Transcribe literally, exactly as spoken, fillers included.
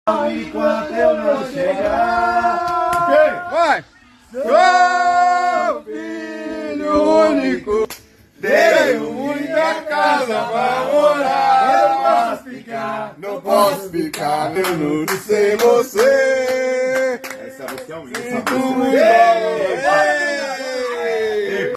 Enquanto eu não chegar, vai! Sou filho único, tenho muita casa pra morar. não posso ficar, Não posso ficar tendo sem você. essa música é um Sinto muito.